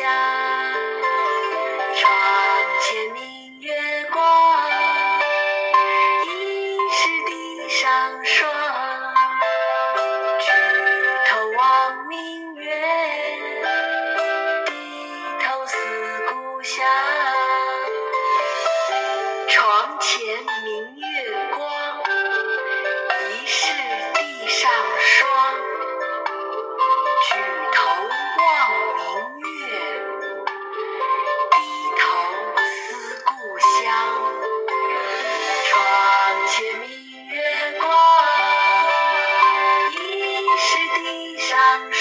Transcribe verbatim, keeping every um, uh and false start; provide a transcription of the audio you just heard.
床前明月光，疑是地上霜。举头望明月，低头思故乡。床前明月光，疑是地上霜。举头望明月，低头思故乡。床前明月光，疑是地上霜。